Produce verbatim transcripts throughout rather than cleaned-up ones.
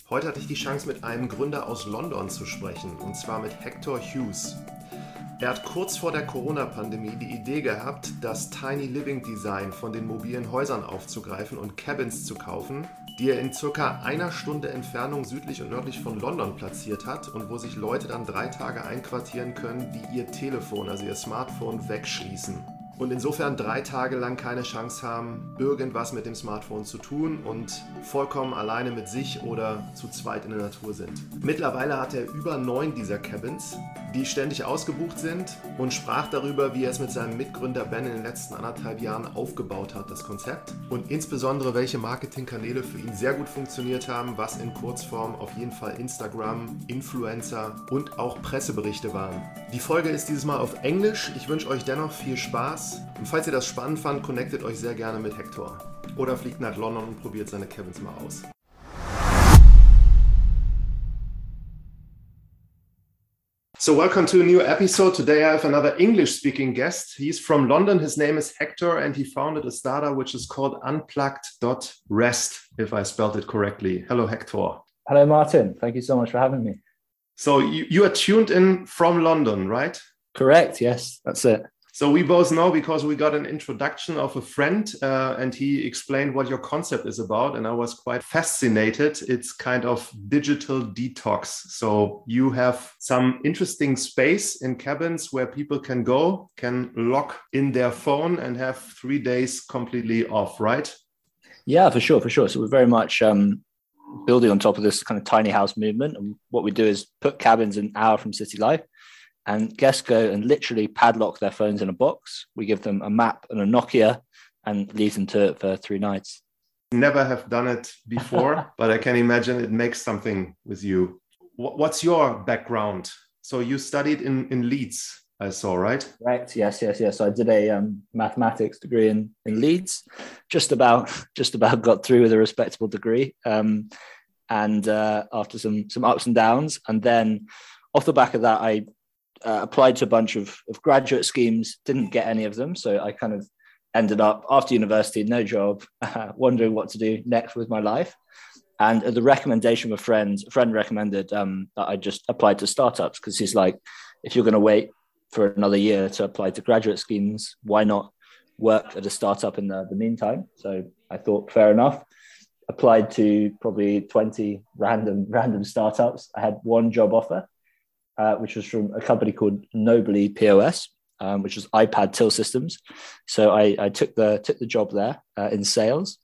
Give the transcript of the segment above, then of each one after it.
Heute hatte ich die Chance, mit einem Gründer aus London zu sprechen, und zwar mit Hector Hughes. Er hat kurz vor der Corona-Pandemie die Idee gehabt, das Tiny Living Design von den mobilen Häusern aufzugreifen und Cabins zu kaufen, die er in circa einer Stunde Entfernung südlich und nördlich von London platziert hat und wo sich Leute dann drei Tage einquartieren können, die ihr Telefon, also ihr Smartphone, wegschließen. Und insofern drei Tage lang keine Chance haben, irgendwas mit dem Smartphone zu tun und vollkommen alleine mit sich oder zu zweit in der Natur sind. Mittlerweile hat er über neun dieser Cabins, die ständig ausgebucht sind, und sprach darüber, wie er es mit seinem Mitgründer Ben in den letzten anderthalb Jahren aufgebaut hat, das Konzept. Und insbesondere, welche Marketingkanäle für ihn sehr gut funktioniert haben, was in Kurzform auf jeden Fall Instagram, Influencer und auch Presseberichte waren. Die Folge ist dieses Mal auf Englisch. Ich wünsche euch dennoch viel Spaß. Und falls ihr das spannend fand, connectet euch sehr gerne mit Hector. Oder fliegt nach London und probiert seine Cabins mal aus. So welcome to a new episode. Today I have another English-speaking guest. He's from London. His name is Hector, and he founded a startup which is called unplugged dot rest, if I spelled it correctly. Hello, Hector. Hello, Martin. Thank you so much for having me. So you, you are tuned in from London, right? Correct. Yes, that's it. So we both know because we got an introduction of a friend uh, and he explained what your concept is about. And I was quite fascinated. It's kind of digital detox. So you have some interesting space in cabins where people can go, can lock in their phone and have three days completely off, right? Yeah, for sure, for sure. So we're very much um, building on top of this kind of tiny house movement. And what we do is put cabins an hour from city life. And guests go and literally padlock their phones in a box. We give them a map and a Nokia and leave them to it for three nights. Never have done it before, but I can imagine it makes something with you. What's your background? So you studied in, in Leeds, I saw, right? Right. Yes, yes, yes. So I did a um, mathematics degree in, in Leeds. Just about, just about got through with a respectable degree. Um, and uh, after some some ups and downs, and then off the back of that, I Uh, applied to a bunch of, of graduate schemes, didn't get any of them. So I kind of ended up after university, no job, uh, wondering what to do next with my life. And at the recommendation of a friend, a friend recommended um, that I just applied to startups because he's like, if you're going to wait for another year to apply to graduate schemes, why not work at a startup in the, the meantime? So I thought, fair enough. Applied to probably twenty random random startups. I had one job offer. Uh, which was from a company called Nobly P O S, um, which was iPad till systems. So I, I took the took the job there uh, in sales,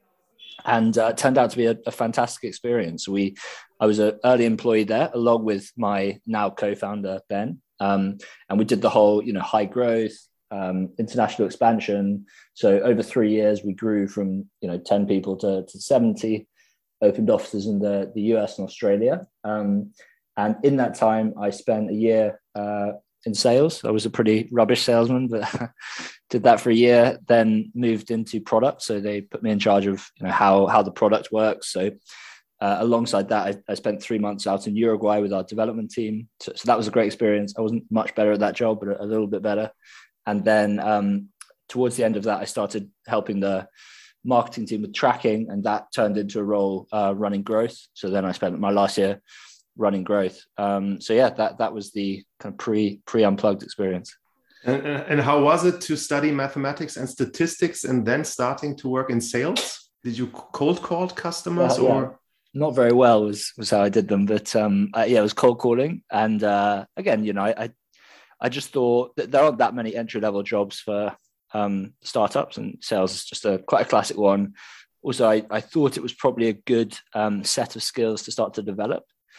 and uh, it turned out to be a, a fantastic experience. We, I was an early employee there, along with my now co-founder Ben, um, and we did the whole, you know, high growth, um, international expansion. So over three years, we grew from you know ten people to, to seventy, opened offices in the the U S and Australia. Um, And in that time, I spent a year uh, in sales. I was a pretty rubbish salesman, but did that for a year, then moved into product. So they put me in charge of you know how, how the product works. So uh, alongside that, I, I spent three months out in Uruguay with our development team. So, so that was a great experience. I wasn't much better at that job, but a, a little bit better. And then um, towards the end of that, I started helping the marketing team with tracking, and that turned into a role uh, running growth. So then I spent my last year running growth. Um, so yeah, that that was the kind of pre pre unplugged experience. And, and how was it to study mathematics and statistics and then starting to work in sales? Did you cold call customers Yeah, or? yeah. Not very well was was how I did them, but um, uh, yeah, it was cold calling. And uh, again, you know, I, I I just thought that there aren't that many entry level jobs for um, startups, and sales is just a quite a classic one. Also, I, I thought it was probably a good um, set of skills to start to develop.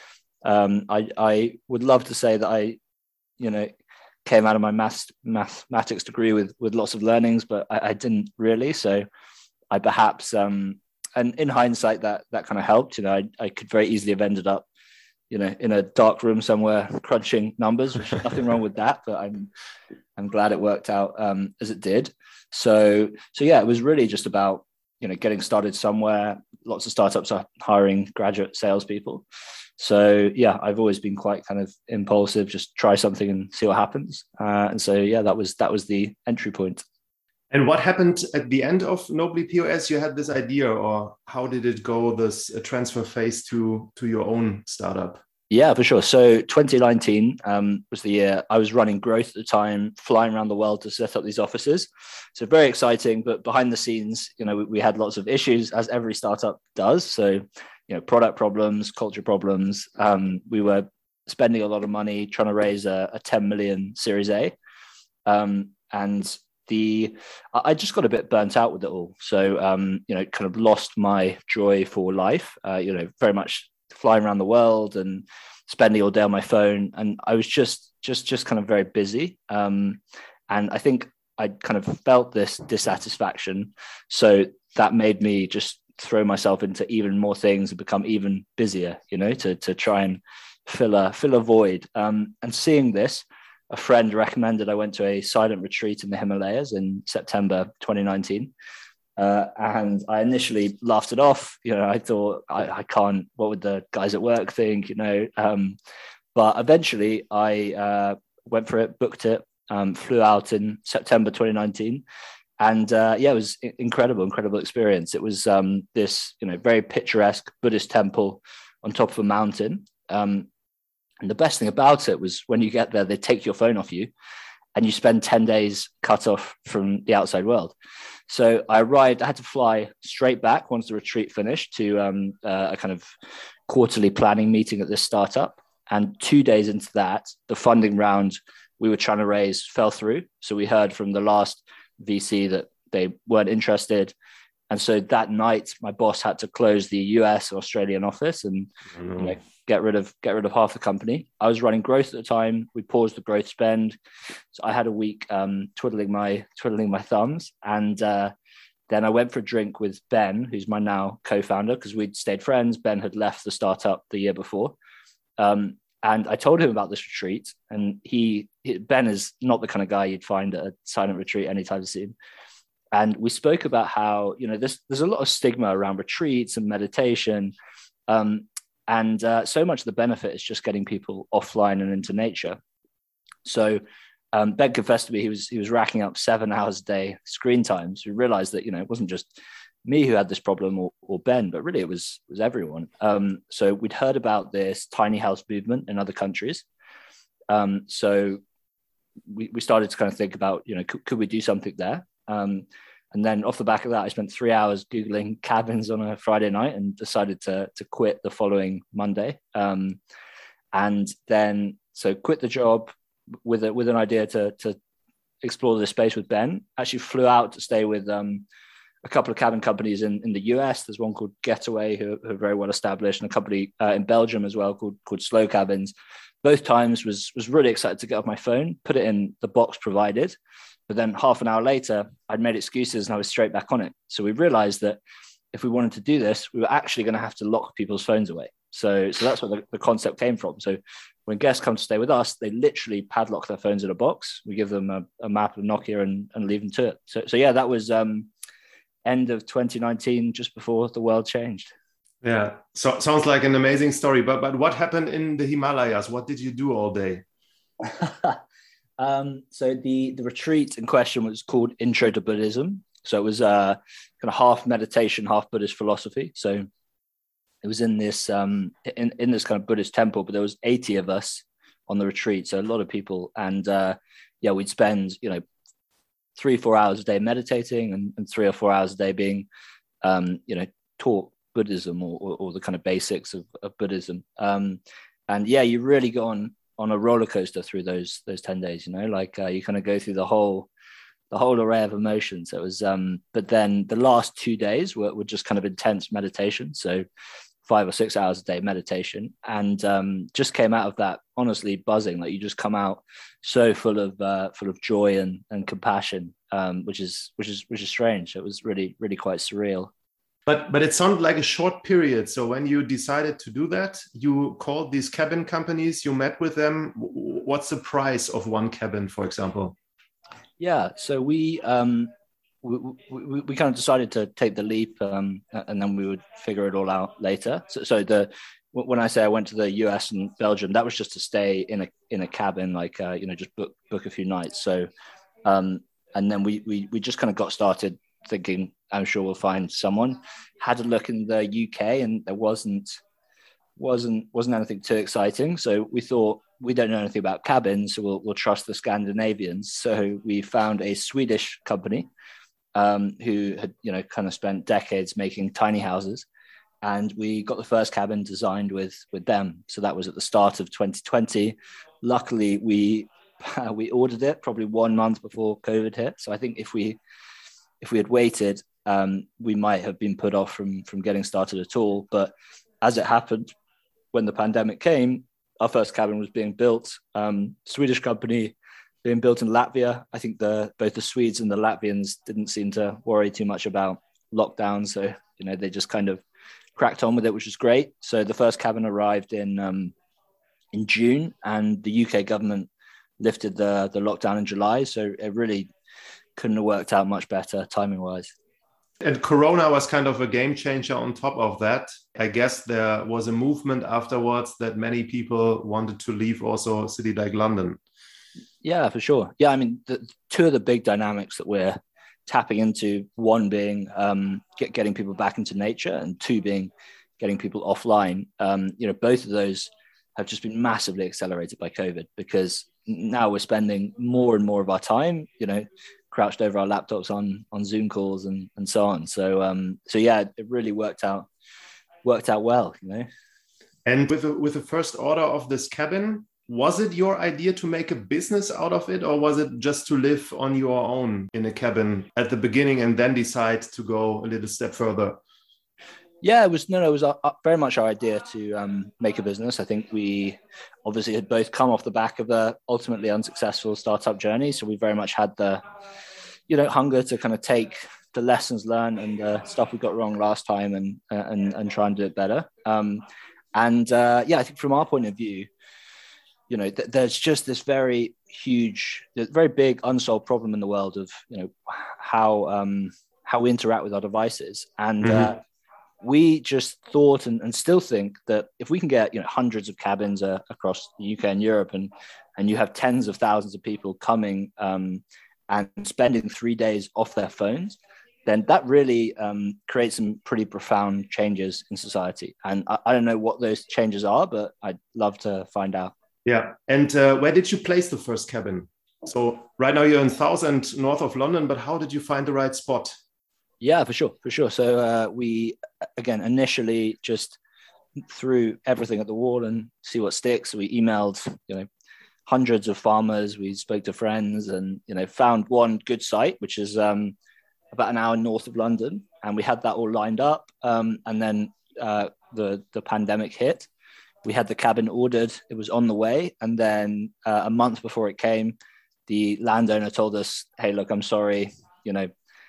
Um, I, I would love to say that I, you know, came out of my math, mathematics degree with, with lots of learnings, but I, I didn't really. So I perhaps, um, and in hindsight, that that kind of helped. You know, I, I could very easily have ended up, you know, in a dark room somewhere crunching numbers, which is nothing wrong with that. But I'm I'm glad it worked out um, as it did. So so yeah, it was really just about you know getting started somewhere. Lots of startups are hiring graduate salespeople. So yeah, I've always been quite kind of impulsive, just try something and see what happens. Uh, and so yeah, that was that was the entry point. And what happened at the end of Nobly P O S? You had this idea, or how did it go, this uh, transfer phase to, to your own startup? Yeah, for sure. So twenty nineteen um, was the year I was running growth at the time, flying around the world to set up these offices. So very exciting, but behind the scenes, you know, we, we had lots of issues, as every startup does. So, you know, product problems, culture problems. Um, we were spending a lot of money trying to raise a, a ten million Series A. Um, and the I just got a bit burnt out with it all. So, um, you know, kind of lost my joy for life, uh, you know, very much flying around the world and spending all day on my phone. And I was just, just, just kind of very busy. Um, and I think I kind of felt this dissatisfaction. So that made me just throw myself into even more things and become even busier, you know, to, to try and fill a, fill a void. Um, and seeing this, a friend recommended I went to a silent retreat in the Himalayas in September twenty nineteen. Uh, and I initially laughed it off. You know, I thought, I, I can't, what would the guys at work think, you know? Um, but eventually I uh, went for it, booked it, um, flew out in September twenty nineteen. And uh, yeah, it was incredible, incredible experience. It was um, this, you know, very picturesque Buddhist temple on top of a mountain. Um, and the best thing about it was when you get there, they take your phone off you and you spend ten days cut off from the outside world. So I arrived, I had to fly straight back once the retreat finished to um, uh, a kind of quarterly planning meeting at this startup. And two days into that, the funding round we were trying to raise fell through. So we heard from the last V C that they weren't interested. And so that night, my boss had to close the U S and Australian office and you know, get rid of get rid of half the company. I was running growth at the time. We paused the growth spend, so I had a week um, twiddling my twiddling my thumbs, and uh, then I went for a drink with Ben, who's my now co-founder, because we'd stayed friends. Ben had left the startup the year before, um, and I told him about this retreat. And he, he Ben is not the kind of guy you'd find at a silent retreat anytime soon. And we spoke about how, you know, there's, there's a lot of stigma around retreats and meditation. Um, and uh, so much of the benefit is just getting people offline and into nature. So um, Ben confessed to me he was he was racking up seven hours a day screen time. So we realized that, you know, it wasn't just me who had this problem or, or Ben, but really it was, was everyone. Um, so we'd heard about this tiny house movement in other countries. Um, so we, we started to kind of think about, you know, could, could we do something there? Um, and then off the back of that, I spent three hours Googling cabins on a Friday night and decided to, to quit the following Monday. Um, and then, so quit the job with a, with an idea to, to explore the space with Ben. Actually flew out to stay with um, a couple of cabin companies in, in the U S. There's one called Getaway, who, who are very well established, and a company uh, in Belgium as well called, called Slow Cabins. Both times was, was really excited to get off my phone, put it in the box provided. But then half an hour later, I'd made excuses and I was straight back on it. So we realized that if we wanted to do this, we were actually going to have to lock people's phones away. So, so that's where the, the concept came from. So when guests come to stay with us, they literally padlock their phones in a box. We give them a, a map of Nokia and, and leave them to it. So, so yeah, that was um, end of twenty nineteen, just before the world changed. Yeah, so sounds like an amazing story. But but what happened in the Himalayas? What did you do all day? Um, so the, the retreat in question was called Intro to Buddhism. So it was uh, kind of half meditation, half Buddhist philosophy. So it was in this um, in, in this kind of Buddhist temple, but there was eighty of us on the retreat. So a lot of people. And uh, yeah, we'd spend, you know, three, four hours a day meditating and, and three or four hours a day being, um, you know, taught Buddhism or, or, or the kind of basics of, of Buddhism. Um, and yeah, you really go on on a roller coaster through those those ten days, you know, like uh, you kind of go through the whole the whole array of emotions. So it was um but then the last two days were, were just kind of intense meditation, so five or six hours a day meditation, and um just came out of that honestly buzzing. Like you just come out so full of uh full of joy and and compassion, um which is which is which is strange. It was really really quite surreal. But but it sounded like a short period. So when you decided to do that, you called these cabin companies, you met with them. What's the price of one cabin, for example? Yeah, so we um, we, we, we kind of decided to take the leap, um, and then we would figure it all out later. So, so the when I say I went to the U S and Belgium, that was just to stay in a in a cabin, like uh, you know, just book book a few nights. So um, and then we we we just kind of got started thinking, I'm sure we'll find someone. Had a look in the U K, and there wasn't wasn't wasn't anything too exciting. So we thought, we don't know anything about cabins, so we'll we'll trust the Scandinavians. So we found a Swedish company um, who had you know kind of spent decades making tiny houses, and we got the first cabin designed with with them. So that was at the start of twenty twenty. Luckily, we we ordered it probably one month before COVID hit. So I think if we if we had waited, um, we might have been put off from from getting started at all. But as it happened, when the pandemic came, our first cabin was being built. Um, Swedish company being built in Latvia. I think the both the Swedes and the Latvians didn't seem to worry too much about lockdown, so you know they just kind of cracked on with it, which was great. So the first cabin arrived in um, in June, and the U K government lifted the the lockdown in July. So it really couldn't have worked out much better timing wise. And Corona was kind of a game changer on top of that. I guess there was a movement afterwards that many people wanted to leave also a city like London. Yeah, for sure. Yeah, I mean, the, two of the big dynamics that we're tapping into, one being um, get, getting people back into nature, and two being getting people offline. Um, you know, both of those have just been massively accelerated by COVID, because now we're spending more and more of our time, you know, crouched over our laptops on on Zoom calls and and so on. So um so yeah, it really worked out worked out well, you know. And with the, with the first order of this cabin, was it your idea to make a business out of it, or was it just to live on your own in a cabin at the beginning and then decide to go a little step further? Yeah, it was no, no, it was uh, very much our idea to um, make a business. I think we obviously had both come off the back of a ultimately unsuccessful startup journey, so we very much had the, you know, hunger to kind of take the lessons learned and the stuff we got wrong last time and uh, and and try and do it better. Um, and uh, yeah, I think from our point of view, you know, th- there's just this very huge, very big unsolved problem in the world of you know how um, how we interact with our devices, and. Mm-hmm. Uh, We just thought and, and still think that if we can get you know hundreds of cabins uh, across the U K and Europe, and and you have tens of thousands of people coming um, and spending three days off their phones, then that really um, creates some pretty profound changes in society. And I, I don't know what those changes are, but I'd love to find out. Yeah. And uh, where did you place the first cabin? So right now you're in Southend, north of London, but how did you find the right spot? Yeah, for sure, for sure. So uh, we, again, initially just threw everything at the wall and see what sticks. We emailed, you know, hundreds of farmers. We spoke to friends, and you know, found one good site, which is um, about an hour north of London, and we had that all lined up. Um, and then uh, the the pandemic hit. We had the cabin ordered; it was on the way, and then uh, a month before it came, the landowner told us, "Hey, look, I'm sorry, you know."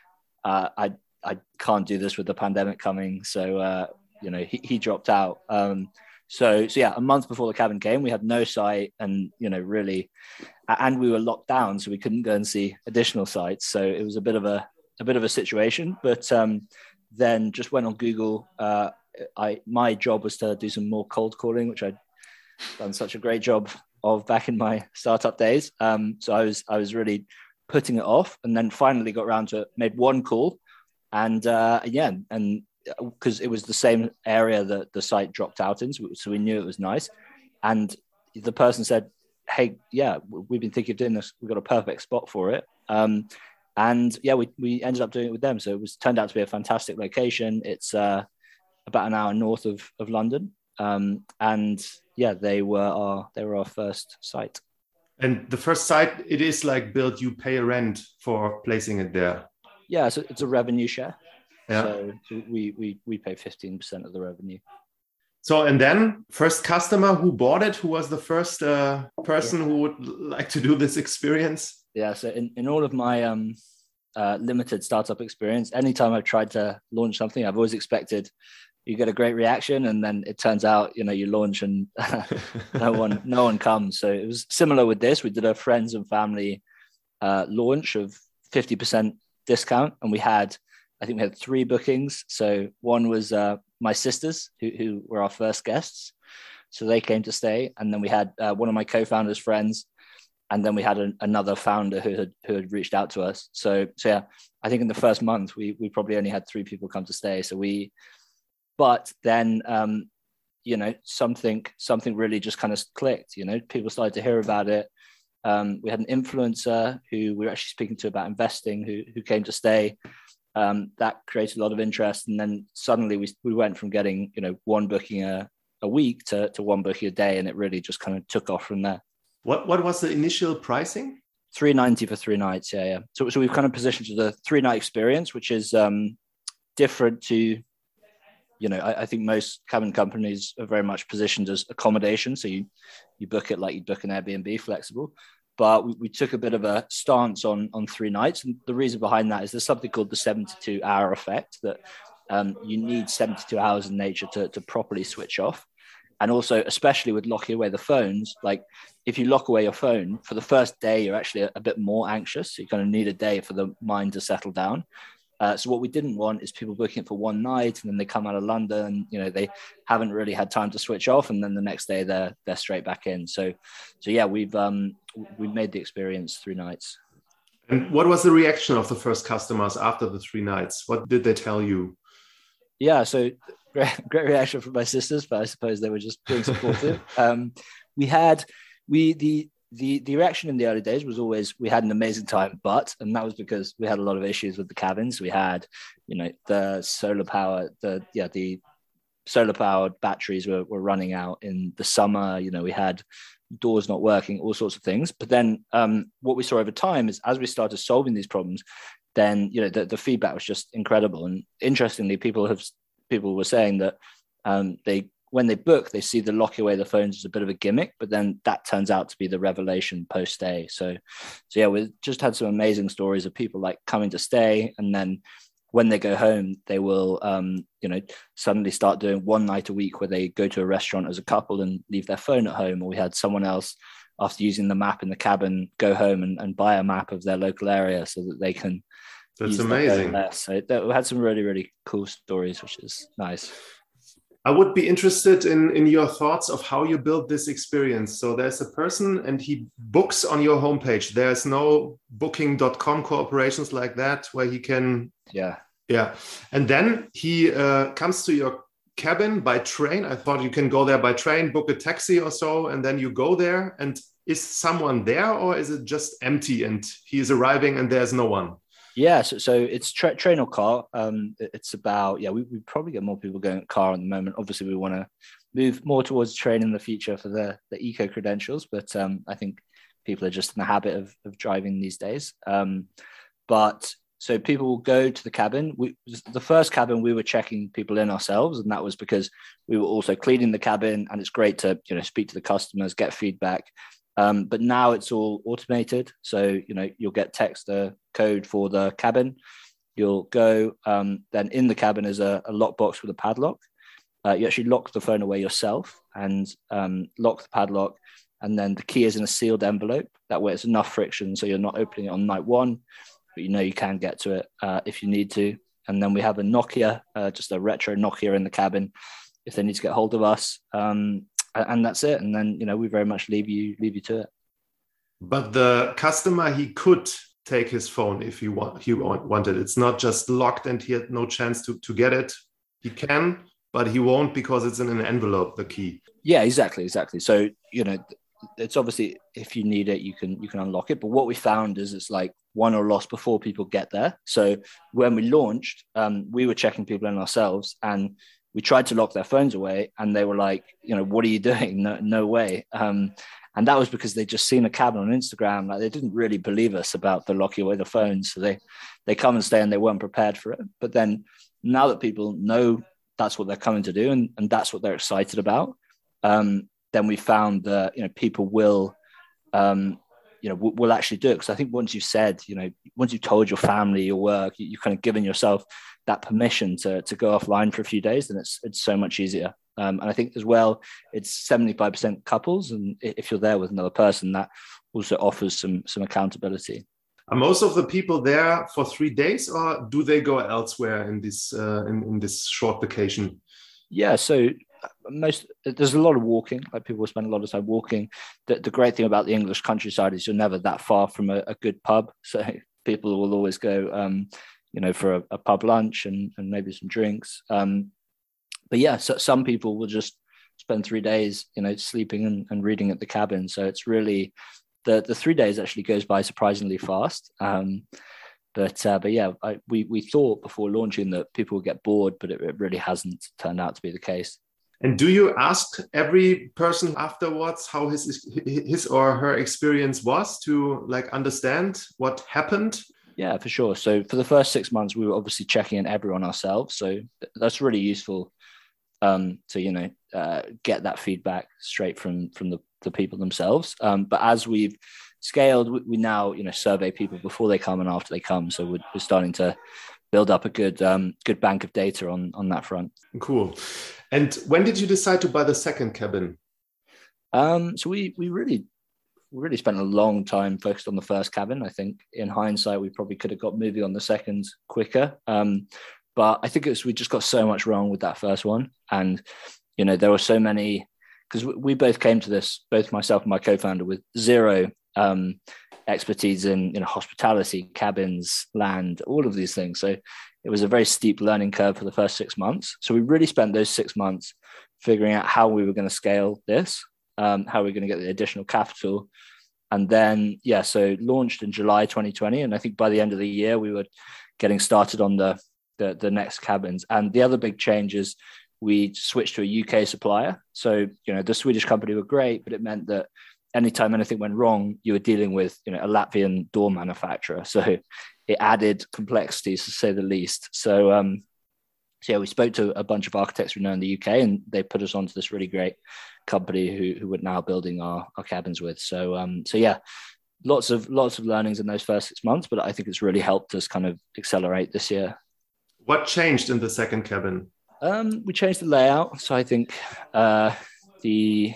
Uh, I I can't do this with the pandemic coming, so uh, you know he, he dropped out. Um, so so yeah, a month before the cabin came, we had no site, and you know really, and we were locked down, so we couldn't go and see additional sites. So it was a bit of a a bit of a situation. But um, then just went on Google. Uh, I my job was to do some more cold calling, which I'd done such a great job of back in my startup days. Um, so I was I was really putting it off, and then finally got around to it, made one call, and uh, yeah, and because it was the same area that the site dropped out in, so we, so we knew it was nice. And the person said, "Hey, yeah, we've been thinking of doing this. We've got a perfect spot for it." Um, and yeah, we we ended up doing it with them. So it was turned out to be a fantastic location. It's uh, about an hour north of of London, um, and yeah, they were our they were our first site. And the first site, it is like built, you pay a rent for placing it there. Yeah, so it's a revenue share. Yeah. So, so we we we pay fifteen percent of the revenue. So, and then first customer who bought it, who was the first uh, person yeah. who would like to do this experience? Yeah, so in, in all of my um, uh, limited startup experience, anytime I've tried to launch something, I've always expected you get a great reaction, and then it turns out, you know, you launch and no one, no one comes. So it was similar with this. We did a friends and family uh, launch of fifty percent discount, and we had, I think we had three bookings. So one was uh, my sisters, who, who were our first guests. So they came to stay. And then we had uh, one of my co-founders' friends and then we had an, another founder who had who had reached out to us. So so yeah, I think in the first month we we probably only had three people come to stay. So we, but then um, you know something something really just kind of clicked. You know, people started to hear about it. Um, we had an influencer who we were actually speaking to about investing, who who came to stay. Um, that created a lot of interest, and then suddenly we we went from getting you know one booking a, a week to to one booking a day, and it really just kind of took off from there. What what was the initial pricing? three ninety for three nights. Yeah, yeah. So so we've kind of positioned to the three night experience, which is um, different to, you know, I, I think most cabin companies are very much positioned as accommodation. So you you book it like you book an Airbnb, flexible. But we, we took a bit of a stance on on three nights, and the reason behind that is there's something called the seventy-two hour effect, that um, you need seventy-two hours in nature to to properly switch off. And also, especially with locking away the phones, like if you lock away your phone for the first day, you're actually a, a bit more anxious. So you're going to need a day for the mind to settle down. Uh, so what we didn't want is people booking it for one night and then they come out of London, you know, they haven't really had time to switch off, and then the next day they're they're straight back in. So, so yeah, we've um we've made the experience three nights. And what was the reaction of the first customers after the three nights? What did they tell you? Yeah, so great, great reaction from my sisters, but I suppose they were just being supportive. um, we had we the. The the reaction in the early days was always we had an amazing time, but and that was because we had a lot of issues with the cabins. We had, you know, the solar power, the yeah, the solar powered batteries were, were running out in the summer. You know, we had doors not working, all sorts of things. But then um, what we saw over time is as we started solving these problems, then you know the, the feedback was just incredible. And interestingly, people have people were saying that um, they. when they book, they see the locking away the phones as a bit of a gimmick, but then that turns out to be the revelation post stay. So, so yeah, we just had some amazing stories of people like coming to stay, and then when they go home, they will, um, you know, suddenly start doing one night a week where they go to a restaurant as a couple and leave their phone at home. Or we had someone else, after using the map in the cabin, go home and, and buy a map of their local area so that they can. That's amazing. So that, we had some really, really cool stories, which is nice. I would be interested in, in your thoughts of how you build this experience. So there's a person and he books on your homepage. There's no booking dot com corporations like that where he can. Yeah. Yeah. And then he uh, comes to your cabin by train. I thought you can go there by train, book a taxi or so, and then you go there. And is someone there, or is it just empty and he is arriving and there's no one? Yeah, so, so it's tra- train or car. Um, it's about, yeah, we, we probably get more people going car at the moment. Obviously, we want to move more towards train in the future for the, the eco credentials, but um, I think people are just in the habit of, of driving these days. Um, but so people will go to the cabin. We, the first cabin, we were checking people in ourselves, and that was because we were also cleaning the cabin, and it's great to, you know, speak to the customers, get feedback. Um, but now it's all automated. So, you know, you'll get text a code for the cabin. You'll go, um, then in the cabin is a, a lockbox with a padlock. Uh, you actually lock the phone away yourself and um, lock the padlock. And then the key is in a sealed envelope. That way it's enough friction. So you're not opening it on night one, but you know you can get to it uh, if you need to. And then we have a Nokia, uh, just a retro Nokia in the cabin if they need to get hold of us. Um, And that's it. And then, you know, we very much leave you leave you to it. But the customer, he could take his phone if he want he wanted. It's not just locked and he had no chance to, to get it. He can, but he won't because it's in an envelope, the key. Yeah, exactly, exactly. So, you know, it's obviously if you need it, you can you can unlock it. But what we found is it's like won or lost before people get there. So when we launched, um, we were checking people in ourselves, and we tried to lock their phones away, and they were like, you know, what are you doing? No, no way. Um, and that was because they'd just seen a cabin on Instagram. Like they didn't really believe us about the locking away the phones. So they, they come and stay and they weren't prepared for it. But then now that people know that's what they're coming to do, and, and that's what they're excited about, um, then we found that, you know, people will, um, you know, will actually do it. Because I think once you've said, you know, once you've told your family, your work, you, you've kind of given yourself that permission to to go offline for a few days, then it's it's so much easier. Um, and I think as well, it's seventy-five percent couples, and if you're there with another person, that also offers some some accountability. Are most of the people there for three days, or do they go elsewhere in this uh, in, in this short vacation? Yeah, so most there's a lot of walking. Like people spend a lot of time walking. The, the great thing about the English countryside is you're never that far from a, a good pub, so people will always go, um, you know, for a, a pub lunch and, and maybe some drinks. Um, but yeah, so some people will just spend three days, you know, sleeping and, and reading at the cabin. So it's really the the three days actually goes by surprisingly fast. Um, But uh, but yeah, I, we we thought before launching that people would get bored, but it, it really hasn't turned out to be the case. And do you ask every person afterwards how his his or her experience was to like understand what happened? Yeah, for sure. So for the first six months, we were obviously checking in everyone ourselves. So that's really useful um, to you know uh, get that feedback straight from from the, the people themselves. Um, but as we've scaled, we, we now you know survey people before they come and after they come. So we're, we're starting to build up a good um, good bank of data on on that front. Cool. And when did you decide to buy the second cabin? Um, so we we really we really spent a long time focused on the first cabin. I think in hindsight, we probably could have got moving on the second quicker. Um, but I think it's we just got so much wrong with that first one, and you know there were so many because we, we both came to this, both myself and my co-founder, with zero um, expertise in you know hospitality, cabins, land, all of these things. So it was a very steep learning curve for the first six months. So we really spent those six months figuring out how we were going to scale this, um, how we were going to get the additional capital. And then, yeah, so launched in July twenty twenty. And I think by the end of the year, we were getting started on the, the, the next cabins. And the other big change is we switched to a U K supplier. So, you know, the Swedish company were great, but it meant that anytime anything went wrong, you were dealing with, you know, a Latvian door manufacturer. So it added complexities, to say the least. So, um, so yeah, we spoke to a bunch of architects we know in the U K, and they put us onto this really great company who who we're now building our, our cabins with. So, um, so yeah, lots of lots of learnings in those first six months, but I think it's really helped us kind of accelerate this year. What changed in the second cabin? Um, we changed the layout. So I think uh, the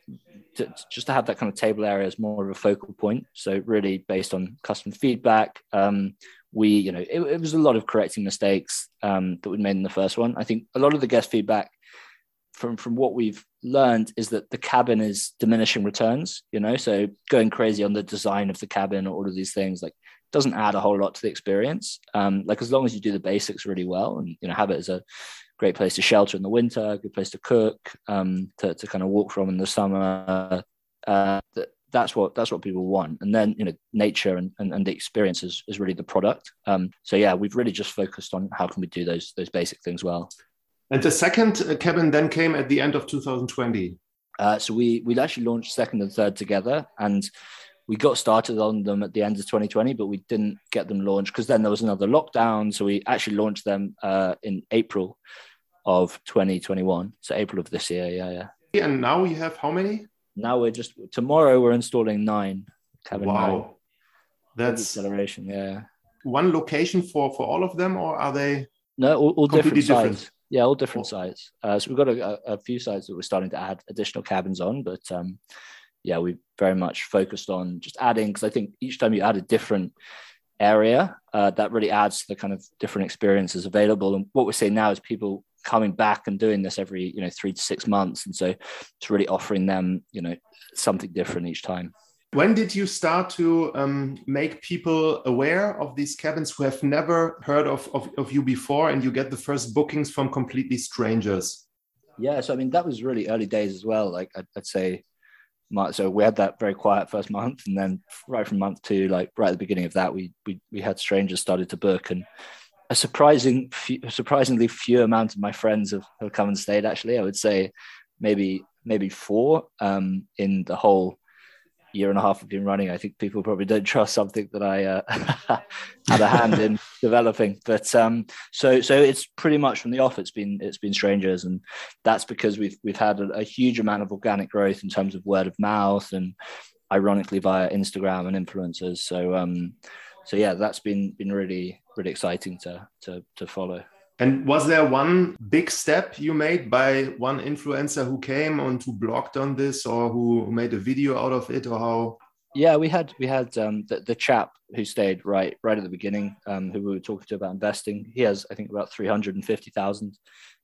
To, just to have that kind of table area as more of a focal point. So really based on customer feedback, um, we, you know, it, it was a lot of correcting mistakes um, that we made in the first one. I think a lot of the guest feedback from, from what we've learned is that the cabin is diminishing returns, you know, so going crazy on the design of the cabin or all of these things, like doesn't add a whole lot to the experience. Um, like as long as you do the basics really well and, you know, have it as a great place to shelter in the winter, a good place to cook, um, to, to kind of walk from in the summer. Uh, that, that's what that's what people want. And then, you know, nature and, and, and the experience is, is really the product. Um, so yeah, we've really just focused on how can we do those those basic things well. And the second cabin then came at the end of two thousand twenty. Uh, so we we actually launched second and third together, and we got started on them at the end of twenty twenty, but we didn't get them launched because then there was another lockdown. So we actually launched them uh, in April of twenty twenty-one. So April of this year. Yeah, yeah. And now you have how many? Now we're just, tomorrow we're installing nine. Cabin wow. Nine. That's acceleration. Yeah. One location for, for all of them, or are they? No, all, all different, different sites. Yeah, all different oh. sites. Uh, so we've got a, a few sites that we're starting to add additional cabins on, but um, yeah, we very much focused on just adding, because I think each time you add a different area, uh, that really adds to the kind of different experiences available. And what we're seeing now is people coming back and doing this every, you know, three to six months. And so it's really offering them, you know, something different each time. When did you start to um, make people aware of these cabins who have never heard of, of, of you before, and you get the first bookings from completely strangers? Yeah, so I mean, that was really early days as well. Like I'd, I'd say, so we had that very quiet first month, and then right from month two, like right at the beginning of that, we we we had strangers started to book, and a surprising, few, surprisingly few amount of my friends have, have come and stayed. Actually, I would say maybe maybe four um, in the whole year and a half I've been running. I think people probably don't trust something that I uh, had a hand in developing. But um, so so it's pretty much from the off. It's been it's been strangers, and that's because we've we've had a, a huge amount of organic growth in terms of word of mouth, and ironically via Instagram and influencers. So um, so yeah, that's been been really really exciting to to to follow. And was there one big step you made by one influencer who came and who blogged on this, or who made a video out of it, or how? Yeah, we had we had um, the, the chap who stayed right right at the beginning, um, who we were talking to about investing. He has, I think, about three hundred fifty thousand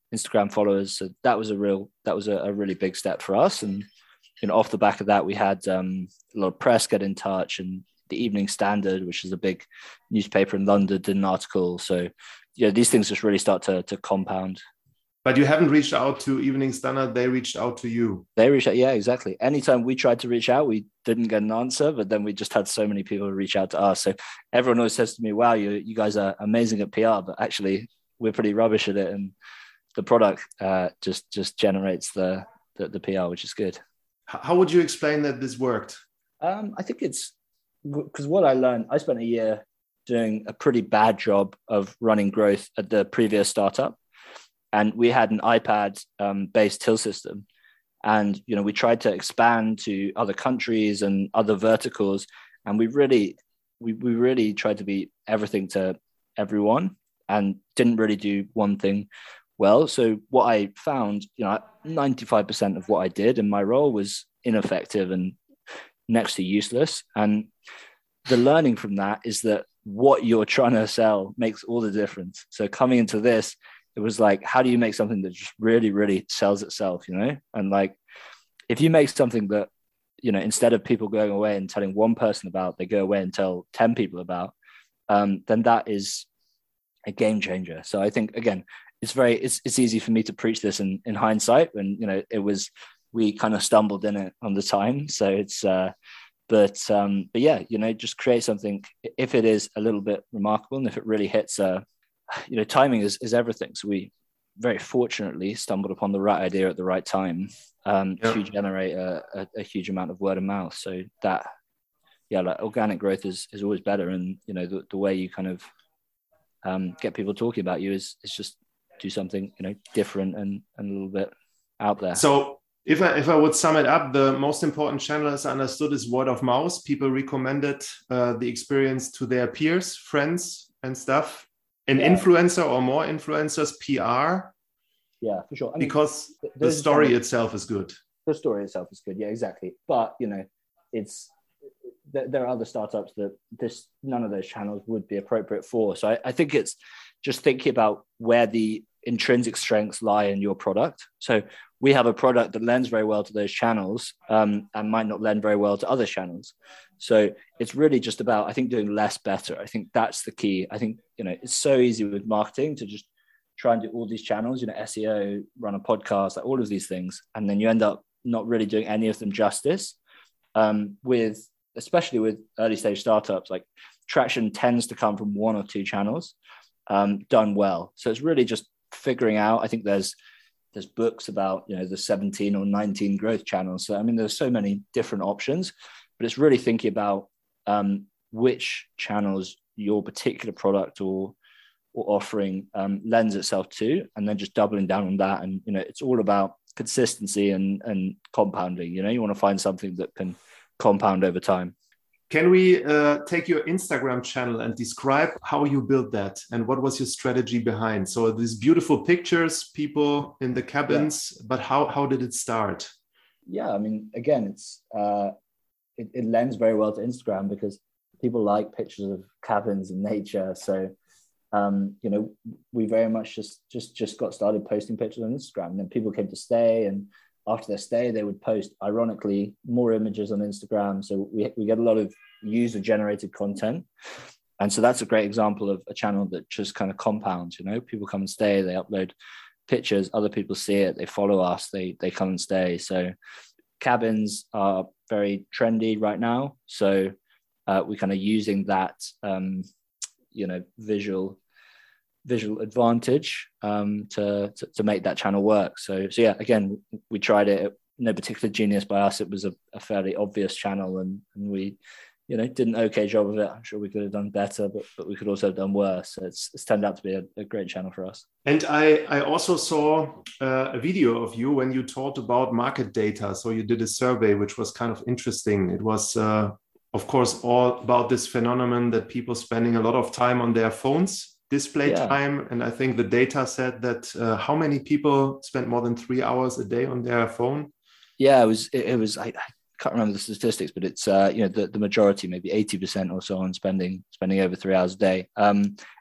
Instagram followers. So that was a real, that was a, a really big step for us. And, you know, off the back of that, we had um, a lot of press get in touch, and the Evening Standard, which is a big newspaper in London, did an article. So, yeah, these things just really start to, to compound. But you haven't reached out to Evening Standard, they reached out to you. They reached out, yeah, exactly. Anytime we tried to reach out, we didn't get an answer, but then we just had so many people reach out to us. So everyone always says to me, wow, you you guys are amazing at P R, but actually we're pretty rubbish at it. And the product uh, just just generates the, the, the P R, which is good. How would you explain that this worked? Um, I think it's because what I learned, I spent a year doing a pretty bad job of running growth at the previous startup. And we had an iPad um, based till system. And, you know, we tried to expand to other countries and other verticals. And we really, we, we really tried to be everything to everyone and didn't really do one thing well. So what I found, you know, ninety-five percent of what I did in my role was ineffective and next to useless. And the learning from that is that what you're trying to sell makes all the difference. So coming into this, it was like, how do you make something that just really, really sells itself, you know? And like, if you make something that, you know, instead of people going away and telling one person about, they go away and tell ten people about, um, then that is a game changer. So I think, again, it's very, it's it's easy for me to preach this in, in hindsight when, you know, it was, we kind of stumbled in it on the time. So it's, uh, but, um, but yeah, you know, just create something, if it is a little bit remarkable and if it really hits a, you know, timing is, is everything. So we very fortunately stumbled upon the right idea at the right time um, yeah. to generate a, a, a huge amount of word of mouth. So that, yeah, like organic growth is, is always better. And, you know, the, the way you kind of um, get people talking about you is, is just do something, you know, different and, and a little bit out there. So if I, if I would sum it up, the most important channel, as I understood, is word of mouth. People recommended uh, the experience to their peers, friends and stuff. An yeah. influencer or more influencers, P R. Yeah, for sure. I mean, because the story kind of, itself is good. The story itself is good. Yeah, exactly. But, you know, it's, there are other startups that this, none of those channels would be appropriate for. So I, I think it's just thinking about where the intrinsic strengths lie in your product. So we have a product that lends very well to those channels um, and might not lend very well to other channels. So it's really just about, I think, doing less better. I think that's the key. I think, you know, it's so easy with marketing to just try and do all these channels, you know, S E O, run a podcast, like all of these things. And then you end up not really doing any of them justice um, with, especially with early stage startups, like traction tends to come from one or two channels um, done well. So it's really just figuring out, I think there's, there's books about, you know, the seventeen or nineteen growth channels. So, I mean, there's so many different options, but it's really thinking about um, which channels your particular product or, or offering um, lends itself to, and then just doubling down on that. And, you know, it's all about consistency and, and compounding. You know, you want to find something that can compound over time. Can we uh, take your Instagram channel and describe how you built that and what was your strategy behind? So these beautiful pictures, people in the cabins, yeah. but how, how did it start? Yeah, I mean, again, it's uh, it, it lends very well to Instagram because people like pictures of cabins and nature. So, um, you know, we very much just, just, just got started posting pictures on Instagram, and then people came to stay, and after their stay, they would post, ironically, more images on Instagram. So we, we get a lot of user-generated content. And so that's a great example of a channel that just kind of compounds, you know, people come and stay, they upload pictures, other people see it, they follow us, they they come and stay. So cabins are very trendy right now. So uh, we're kind of using that, um, you know, visual visual advantage um, to, to to make that channel work. So so yeah, again, we tried it. No particular genius by us. It was a, a fairly obvious channel, and and we, you know, did an okay job of it. I'm sure we could have done better, but but we could also have done worse. So it's it's turned out to be a, a great channel for us. And I I also saw uh, a video of you when you talked about market data. So you did a survey, which was kind of interesting. It was uh, of course all about this phenomenon that people spending a lot of time on their phones. Display yeah. time, and I think the data said that uh, how many people spent more than three hours a day on their phone? Yeah, it was. It, it was. I, I can't remember the statistics, but it's uh, you know the, the majority, maybe eighty percent or so, on spending spending over three hours a day. Um,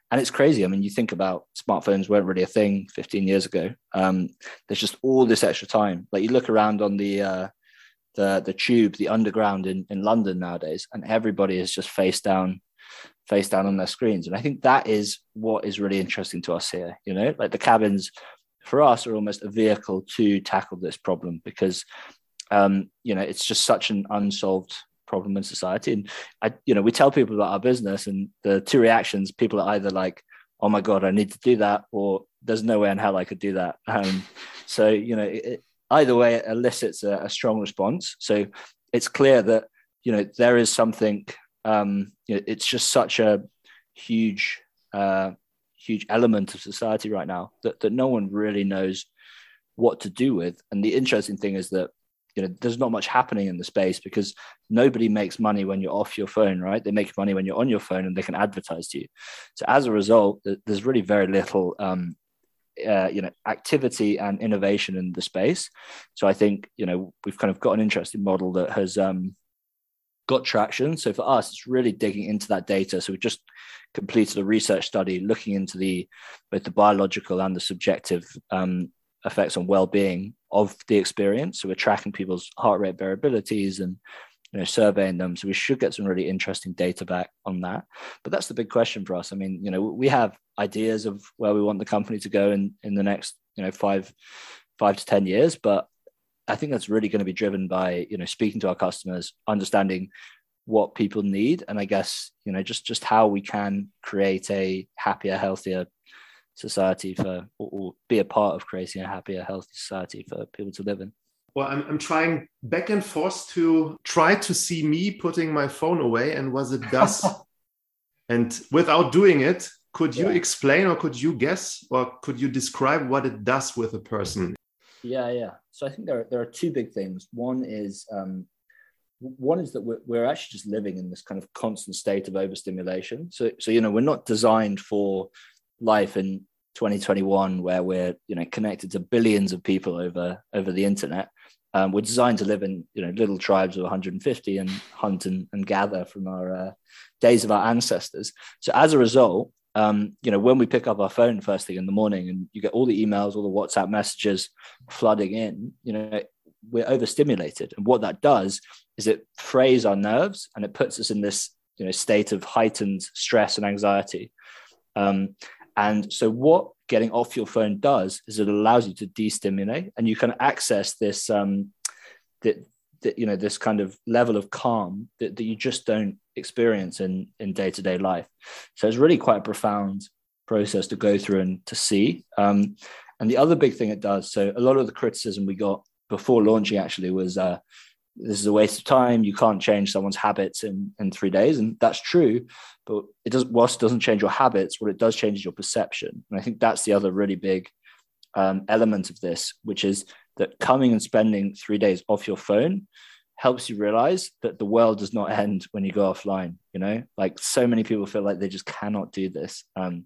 and it's crazy. I mean, you think about smartphones weren't really a thing fifteen years ago. Um, there's just all this extra time. Like you look around on the uh, the the tube, the underground in, in London nowadays, and everybody is just face down, face down on their screens. And I think that is what is really interesting to us here. You know, like the cabins for us are almost a vehicle to tackle this problem because, um, you know, it's just such an unsolved problem in society. And I, you know, we tell people about our business, and the two reactions, people are either like, "Oh my God, I need to do that," or "There's no way in hell I could do that." Um, so, you know, it, either way, it elicits a, a strong response. So it's clear that, you know, there is something. Um, you know, it's just such a huge, uh, huge element of society right now that that no one really knows what to do with. And the interesting thing is that, you know, there's not much happening in the space because nobody makes money when you're off your phone, right? They make money when you're on your phone and they can advertise to you. So as a result, there's really very little, um, uh, you know, activity and innovation in the space. So I think, you know, we've kind of got an interesting model that has um, got traction. So for us, it's really digging into that data. So we just completed a research study looking into the both the biological and the subjective um, effects on well-being of the experience. So we're tracking people's heart rate variabilities and, you know, surveying them. So we should get some really interesting data back on that. But that's the big question for us. I mean, you know, we have ideas of where we want the company to go in, in the next, you know, five, five to ten years. But I think that's really going to be driven by, you know, speaking to our customers, understanding what people need. And I guess, you know, just, just how we can create a happier, healthier society for, or, or be a part of creating a happier, healthy society for people to live in. Well, I'm, I'm trying back and forth to try to see me putting my phone away and what it does. And without doing it, could you yeah. explain or could you guess or could you describe what it does with a person? Yeah, yeah. So I think there are, there are two big things. One is um, one is that we're, we're actually just living in this kind of constant state of overstimulation. So, so you know, we're not designed for life in twenty twenty-one where we're, you know, connected to billions of people over over the internet. Um, we're designed to live in, you know, little tribes of one hundred fifty and hunt and, and gather from our uh, days of our ancestors. So as a result, um, you know, when we pick up our phone first thing in the morning and you get all the emails, all the WhatsApp messages flooding in, you know, we're overstimulated. And what that does is it frays our nerves and it puts us in this, you know, state of heightened stress and anxiety. Um, And so what getting off your phone does is it allows you to destimulate and you can access this, um, that, that, you know, this kind of level of calm that, that you just don't experience in, in day-to-day life. So it's really quite a profound process to go through and to see. Um, and the other big thing it does, so a lot of the criticism we got before launching actually was, uh, this is a waste of time. You can't change someone's habits in, in three days. And that's true. But it does, whilst it doesn't change your habits, what it does change is your perception. And I think that's the other really big um, element of this, which is that coming and spending three days off your phone helps you realize that the world does not end when you go offline. You know, like so many people feel like they just cannot do this. Um,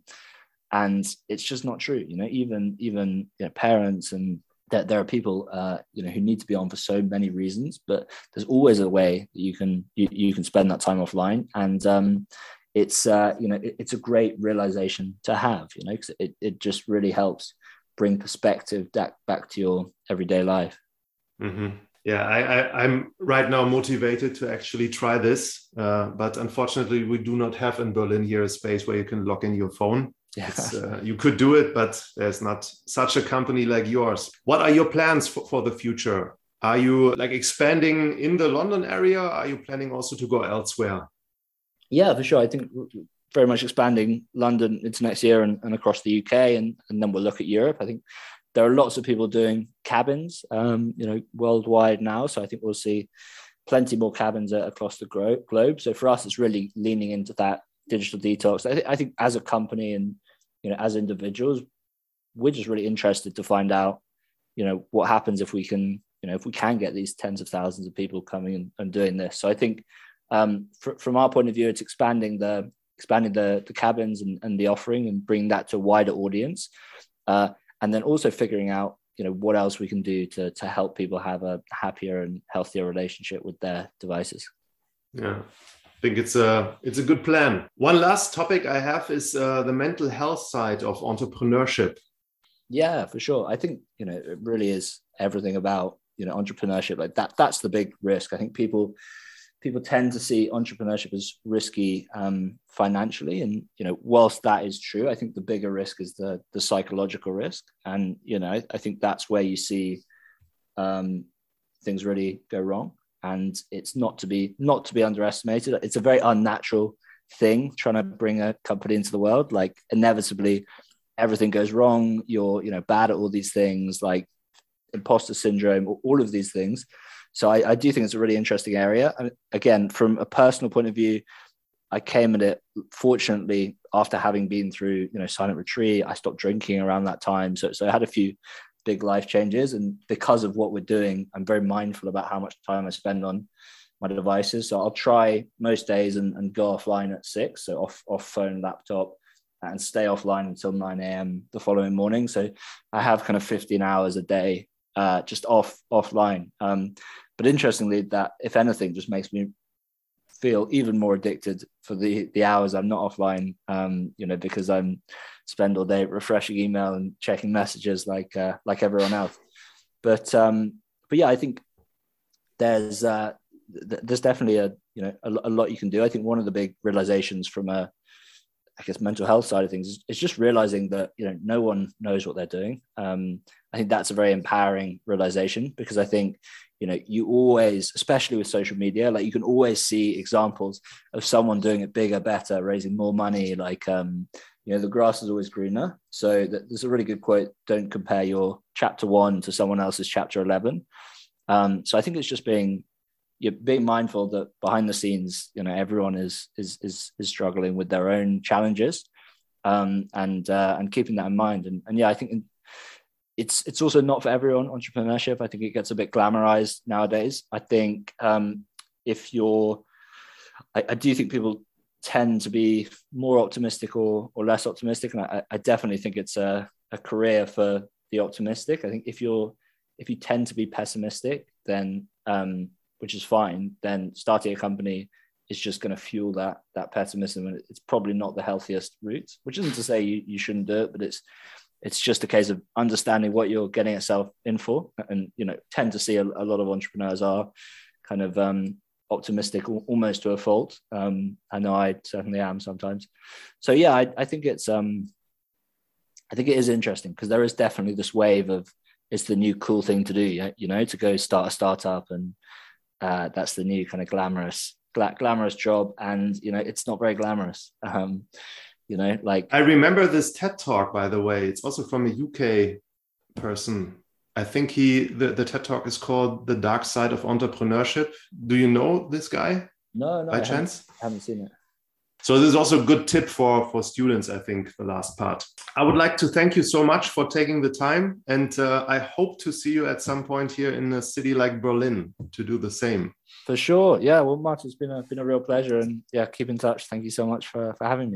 and it's just not true. You know, even, even you know, parents and that there are people, uh, you know, who need to be on for so many reasons, but there's always a way that you can you, you can spend that time offline, and um, it's uh, you know it, it's a great realization to have, you know, because it it just really helps bring perspective back back to your everyday life. Mm-hmm. Yeah, I, I I'm right now motivated to actually try this, uh, but unfortunately we do not have in Berlin here a space where you can log in your phone. Yeah. Uh, you could do it, but there's not such a company like yours. What are your plans for, for the future? Are you like expanding in the London area? Are you planning also to go elsewhere? Yeah, for sure. I think very much expanding London into next year and, and across the U K, and, and then we'll look at Europe. I think there are lots of people doing cabins, um, you know, worldwide now. So I think we'll see plenty more cabins across the globe. So for us, it's really leaning into that digital detox. I, th- I think as a company and, you know, as individuals, we're just really interested to find out, you know, what happens if we can, you know, if we can get these tens of thousands of people coming and, and doing this. So I think um, fr- from our point of view, it's expanding the expanding the, the cabins and, and the offering and bringing that to a wider audience. Uh, and then also figuring out, you know, what else we can do to, to help people have a happier and healthier relationship with their devices. Yeah. think it's a it's a good plan. One last topic I have is uh, the mental health side of entrepreneurship. Yeah, for sure. I think, you know, it really is everything about, you know, entrepreneurship. Like that, that's the big risk. I think people people tend to see entrepreneurship as risky um, financially. And, you know, whilst that is true, I think the bigger risk is the the psychological risk. And, you know, I, I think that's where you see um, things really go wrong. And it's not to be not to be underestimated. It's a very unnatural thing trying to bring a company into the world. Like inevitably, everything goes wrong. You're, you know, bad at all these things, like imposter syndrome, all of these things. So I, I do think it's a really interesting area. I mean, again, from a personal point of view, I came at it fortunately after having been through, you know, silent retreat. I stopped drinking around that time, so so I had a few big life changes, and because of what we're doing, I'm very mindful about how much time I spend on my devices. So I'll try most days and, and go offline at six, so off off phone, laptop, and stay offline until nine a.m. the following morning. So I have kind of fifteen hours a day uh, just off offline. Um, but interestingly, that if anything, just makes me feel even more addicted for the the hours I'm not offline. Um, you know, because I'm spend all day refreshing email and checking messages like uh, like everyone else. But um, but yeah, I think there's uh, th- there's definitely a you know a, a lot you can do. I think one of the big realizations from a I guess mental health side of things is, is just realizing that, you know, no one knows what they're doing. Um, I think that's a very empowering realization, because I think, you know, you always, especially with social media, like you can always see examples of someone doing it bigger, better, raising more money. Like, um, you know, the grass is always greener. So that, there's a really good quote: don't compare your chapter one to someone else's chapter eleven. Um, so I think it's just being, you're being mindful that behind the scenes, you know, everyone is is is, is struggling with their own challenges, um, and uh, and keeping that in mind. And, and yeah, I think it's it's also not for everyone. Entrepreneurship, I think it gets a bit glamorized nowadays. I think um, if you're, I, I do think people tend to be more optimistic or or less optimistic, and I, I definitely think it's a, a career for the optimistic. I think if you're if you tend to be pessimistic, then um, which is fine, then starting a company is just going to fuel that that pessimism, and it's probably not the healthiest route. Which isn't to say you, you shouldn't do it, but it's it's just a case of understanding what you're getting yourself in for. And you know, tend to see a, a lot of entrepreneurs are kind of um, optimistic almost to a fault. Um, I know I certainly am sometimes. So yeah, I, I think it's um, I think it is interesting, because there is definitely this wave of it's the new cool thing to do, you know, to go start a startup, and Uh, that's the new kind of glamorous, gla- glamorous job, and you know it's not very glamorous. Um, you know, like I remember this TED Talk, by the way. It's also from a U K person. I think he the, the TED Talk is called "The Dark Side of Entrepreneurship." Do you know this guy? No, no, By I chance? haven't, haven't seen it. So this is also a good tip for, for students, I think, the last part. I would like to thank you so much for taking the time. And uh, I hope to see you at some point here in a city like Berlin to do the same. For sure. Yeah, well, Martin, it's been a, been a real pleasure. And yeah, keep in touch. Thank you so much for, for having me.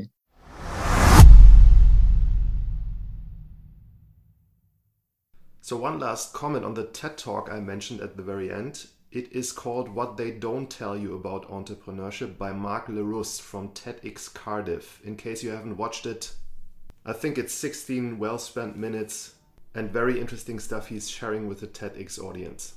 So one last comment on the TED Talk I mentioned at the very end. It is called What They Don't Tell You About Entrepreneurship by Mark LeRusse from TEDx Cardiff. In case you haven't watched it, I think it's sixteen well-spent minutes and very interesting stuff he's sharing with the TEDx audience.